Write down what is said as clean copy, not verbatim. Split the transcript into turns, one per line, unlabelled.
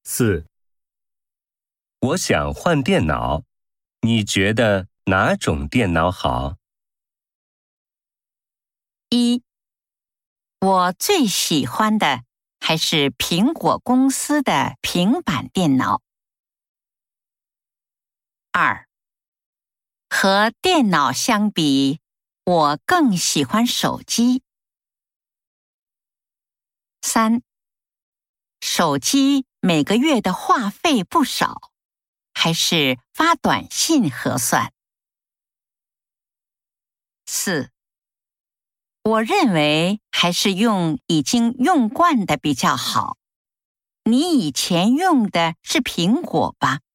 4. 我想换电脑，你觉得哪种电脑好
？1. 我最喜欢的还是苹果公司的平板电脑。2. 和电脑相比，我更喜欢手机。3. 手机每个月的话费不少，还是发短信合算。4. 我认为还是用已经用惯的比较好。你以前用的是苹果吧？